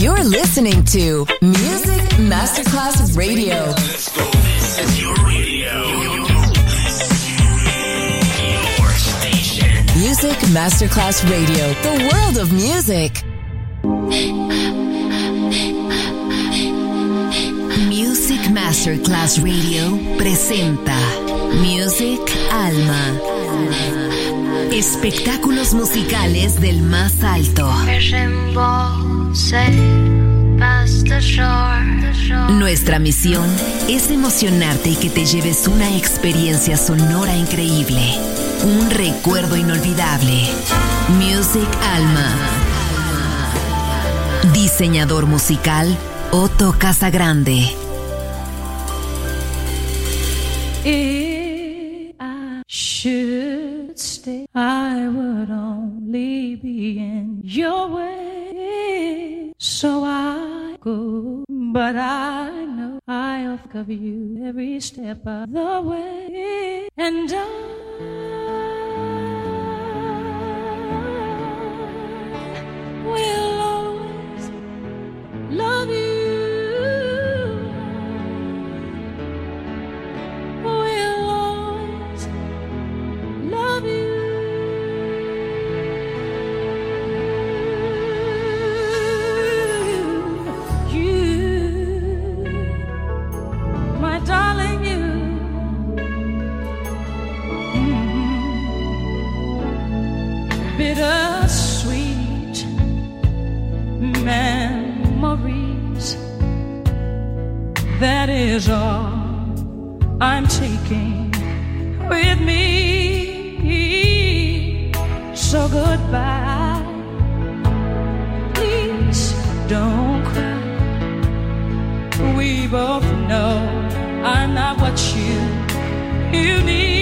You're listening to Music Masterclass Radio. Let's go. This is your radio. Your station. Music Masterclass Radio. The world of music. Music Masterclass Radio presenta Music Alma. Espectáculos musicales del más alto. Nuestra misión es emocionarte y que te lleves una experiencia sonora increíble, un recuerdo inolvidable. Music Alma. Diseñador musical Otto Casagrande. If I should stay, I would only be in your way. So I go, but I know I'll cover you every step of the way. And I will always love you. Bittersweet memories, that is all I'm taking with me. So goodbye, please don't cry. We both know I'm not what you need.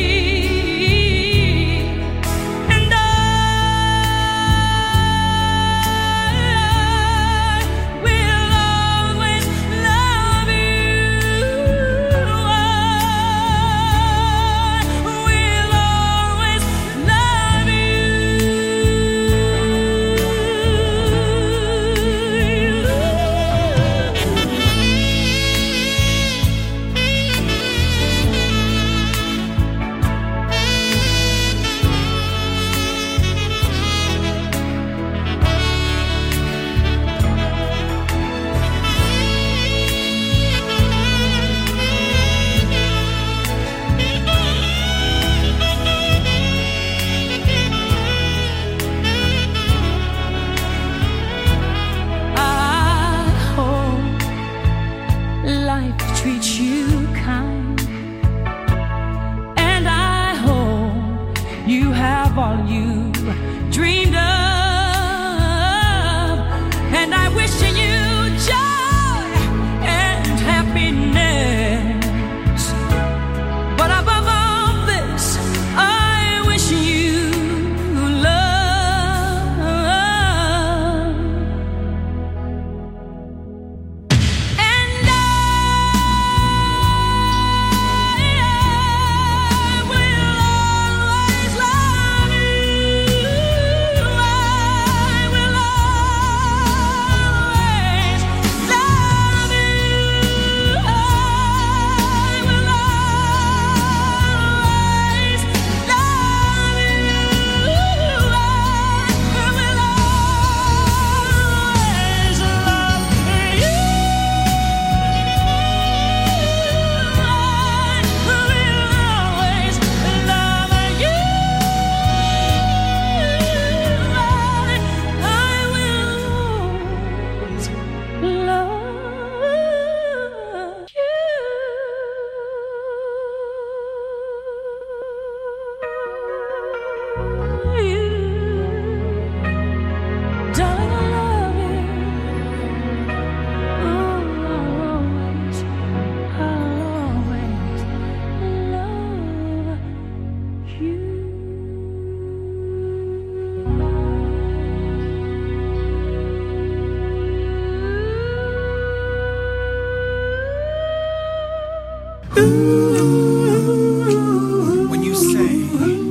When you say,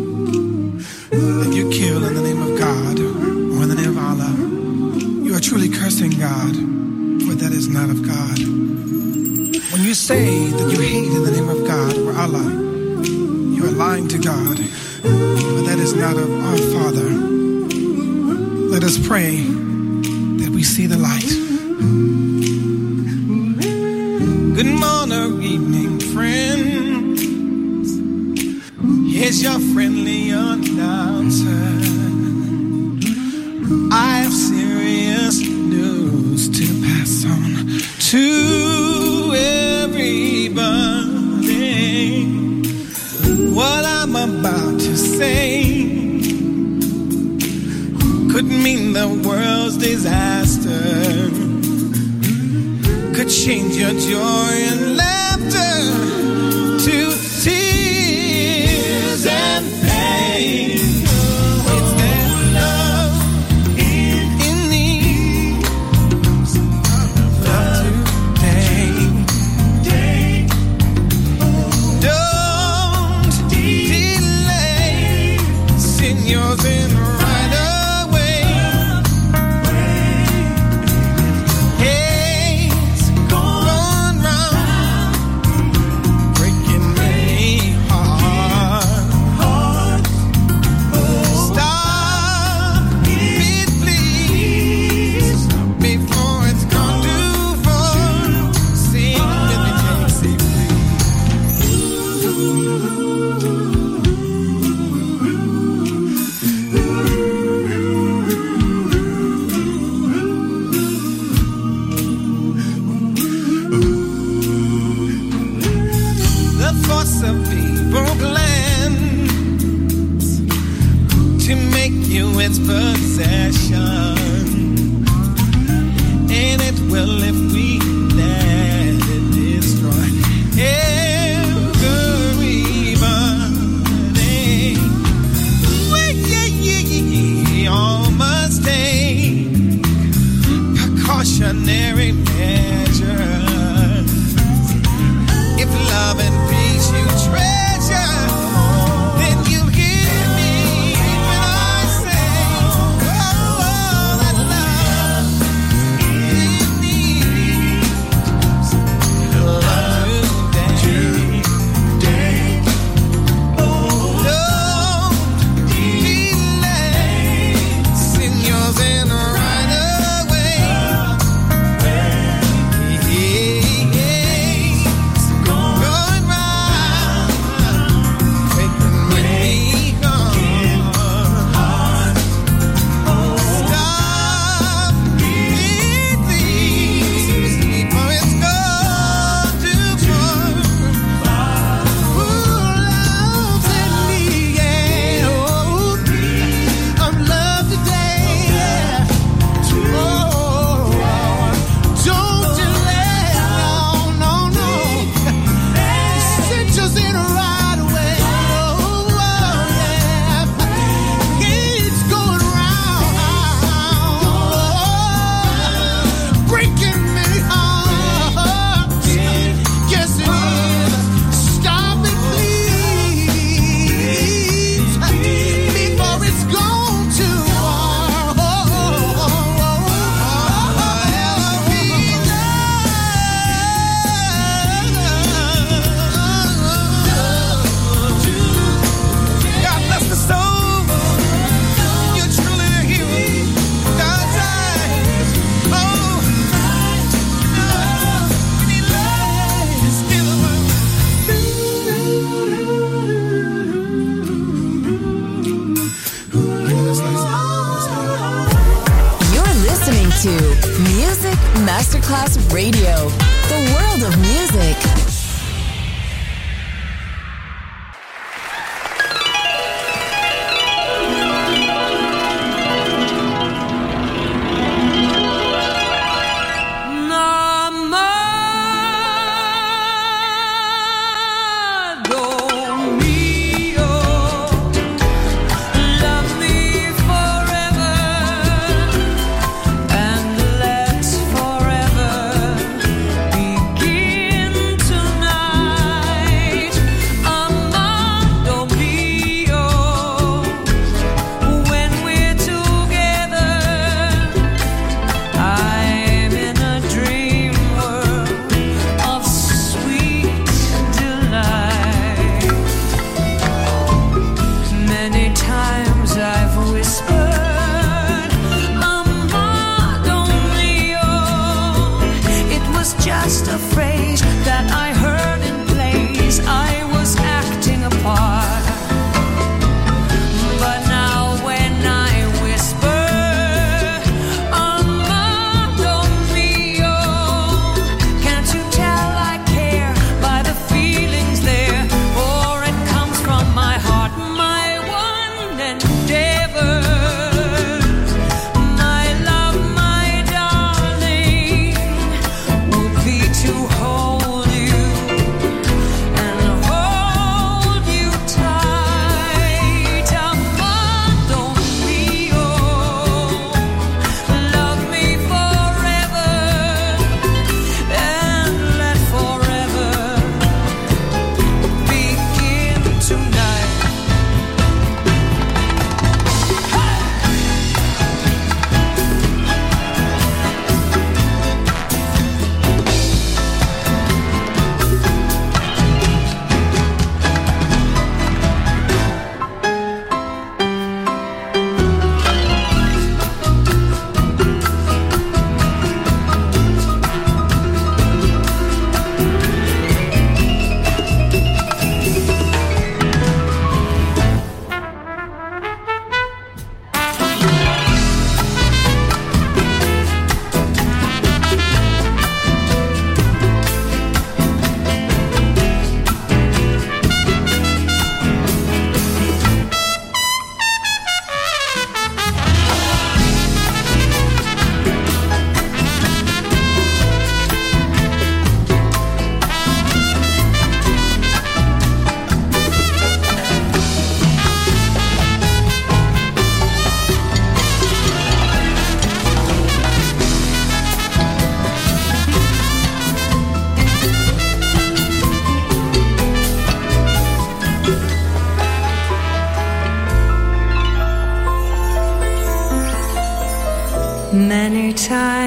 if you kill in the name of God or in the name of Allah, you are truly cursing God, for that is not of God. When you say that you hate in the name of God or Allah, you are lying to God, for that is not of our Father. Let us pray that we see the light. Good morning, evening, friends. Here's your friendly announcer. I have serious news to pass on to everybody. What I'm about to say could mean the world's disaster, could change your joy and laughter to tears and pain. It's that love in me, love today. Don't delay, send yours in right away. Hey, it's gone round, breaking many hearts. Stop it, please, before it's gone too far. Sing with me, Dixie, the force of evil plans to make you its possession, and it will if we let it destroy everybody. We all must take precautionary measures. If love and peace you treasure, then you hear me when I say, oh, that love in me. Love today. Don't delay, send yours in right away. It's going round, making me gone. Stop it, please, before it's gone too far. Who loves in me, yeah, oh, of love today, yeah. Oh, don't delay, no. Send yours in right away. Oh, yeah. It's going round, breaking many hearts. Yes, it is. Stop it, please, before it's gone too far. God bless the soul. You're truly the hero. God's eyes. Oh, we need love to steal the You're listening to Music Masterclass Radio, the world of music. Amado mío, love me forever, and let's forever begin to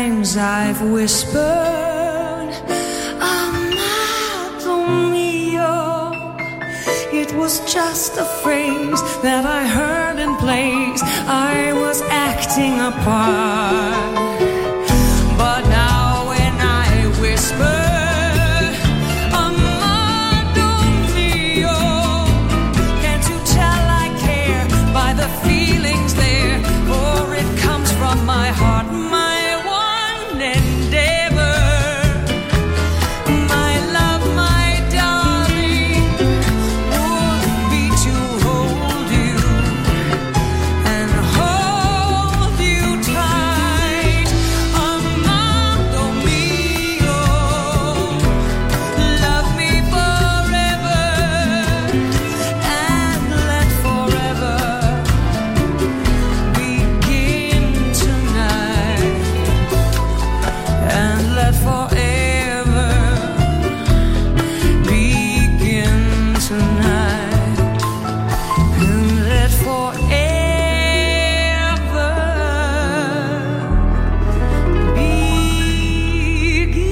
times I've whispered, Amato mio. It was just a phrase that I heard in place I was acting a part. But now when I whisper, my heart, my one endeavor, my love, my darling, would be to hold you and hold you tight. Amado mio, love me forever and let forever forever begin tonight, and let forever begin.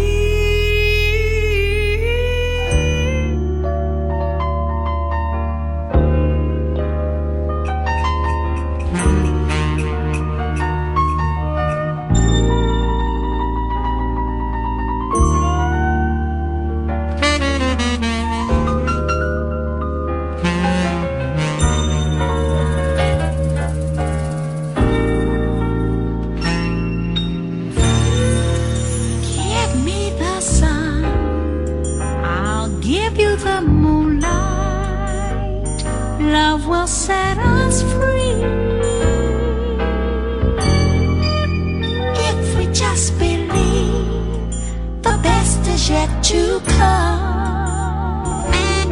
Love will set us free if we just believe the best is yet to come.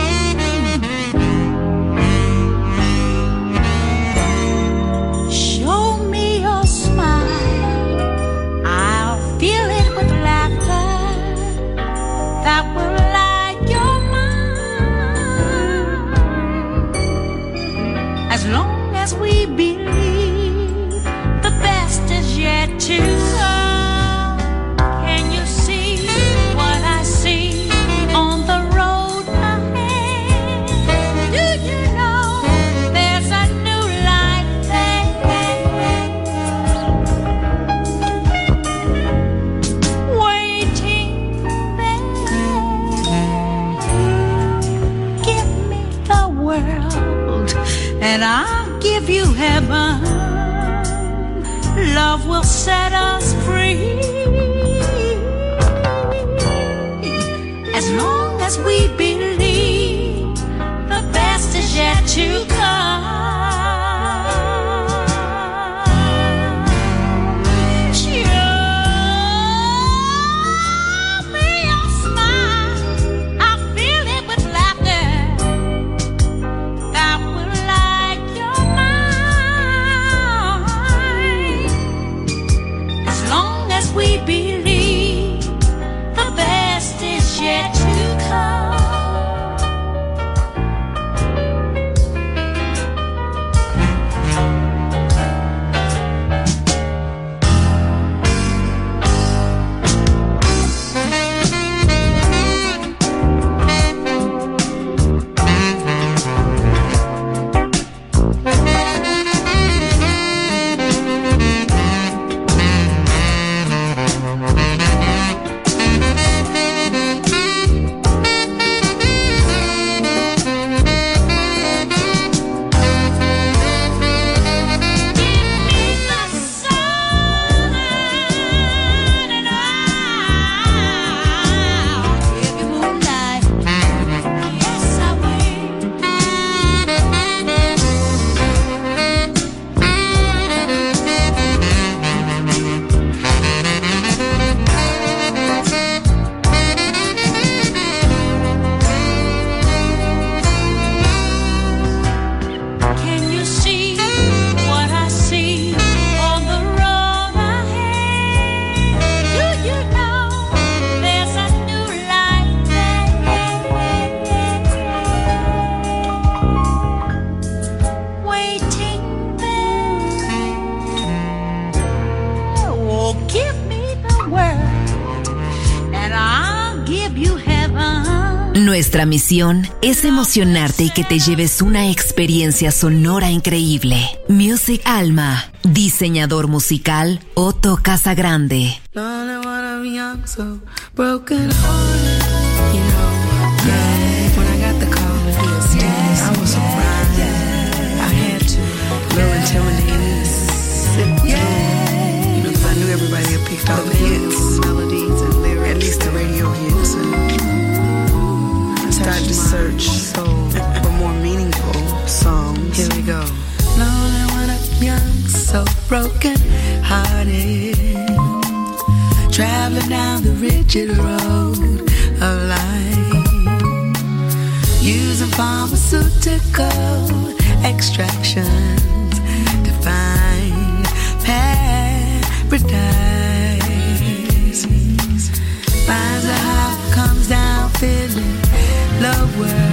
Show me your smile, I'll feel it with laughter that will light your mind. As long as we believe the best is yet to come. Can you see what I see on the road ahead? Do you know there's a new life there, waiting there? Give me the world and I'll give you heaven. Love will set us free. As long as we believe the best is yet to come. Show me your smile, I feel it with laughter that will light your mind. As long as we Nuestra misión es emocionarte y que te lleves una experiencia sonora increíble. Music Alma, diseñador musical Otto Casagrande. Everybody had picked all the hits, melodies, and lyrics, at least the radio hits. I started to search for more meaningful songs. Here we go. Lonely when I'm young, so broken hearted, traveling down the rigid road of life, using pharmaceutical extractions to find paradise. Finds a heart, comes down feeling lower,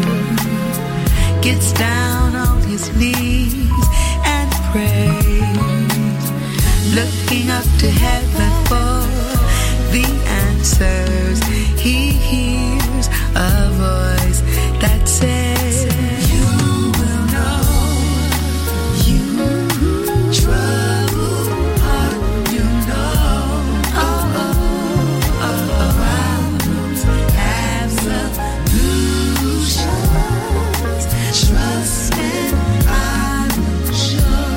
gets down on his knees and prays, looking up to heaven for the answers. He hears a voice that says, you will know, you trouble heart, you know, absolutions, trust and I will show.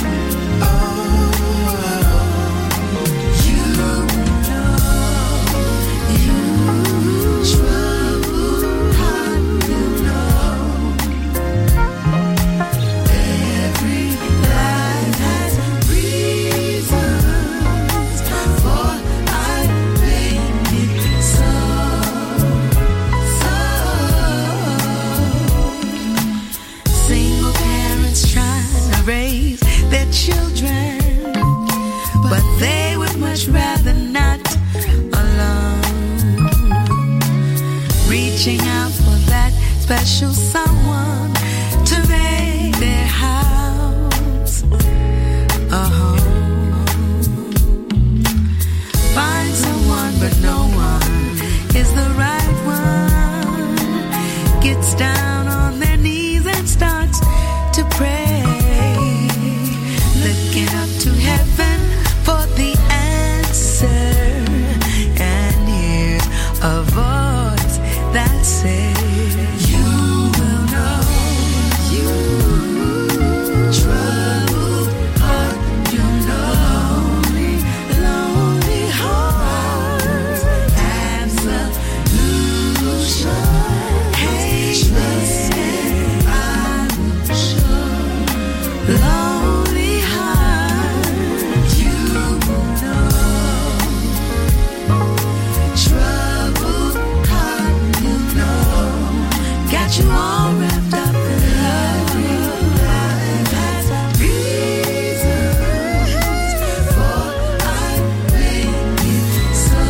You know, you trouble heart, you know. Every life has reasons, for I made it so. Single parents trying to raise their children, but they would much rather not alone. Reaching out for that special someone to make their house a home. Find someone, but no one is the right one. Gets down on their knees and starts to pray, looking up to heaven for the answer, and hears a voice that says, you will know, you trouble heart, you know, lonely heart, absolution, hey, trust and I will show. Lonely heart, you know, troubled heart, you know, got you all wrapped up in love. Life has reasons, for I make it so.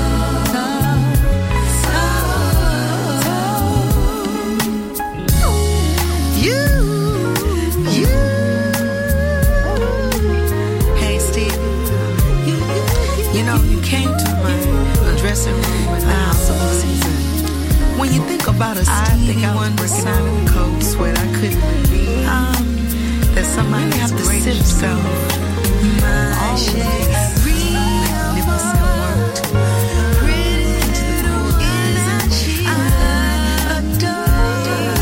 Hey Steve, you know you came to my dressing room at the house of season. When you think about a Stevie Wonder working out in the cold sweat, I couldn't reveal that somebody have to sip so. My shade, magnificent work, pretty to the core, isn't she? I adore.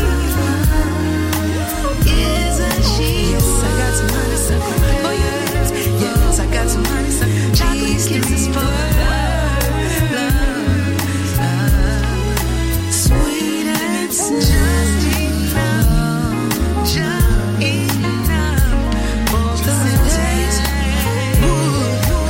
Isn't she? Yes, I got some honeysuckle for your lips. Yes, I got some honeysuckle chocolate kisses for love. Sweet and just enough, just enough for the taste. Ooh.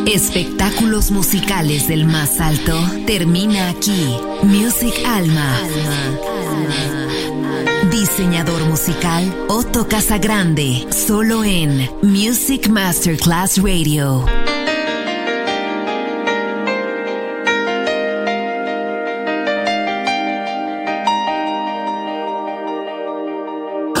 Espectáculos musicales del más alto termina aquí. Music Alma. Diseñador musical Otto Casagrande, solo en Music Masterclass Radio.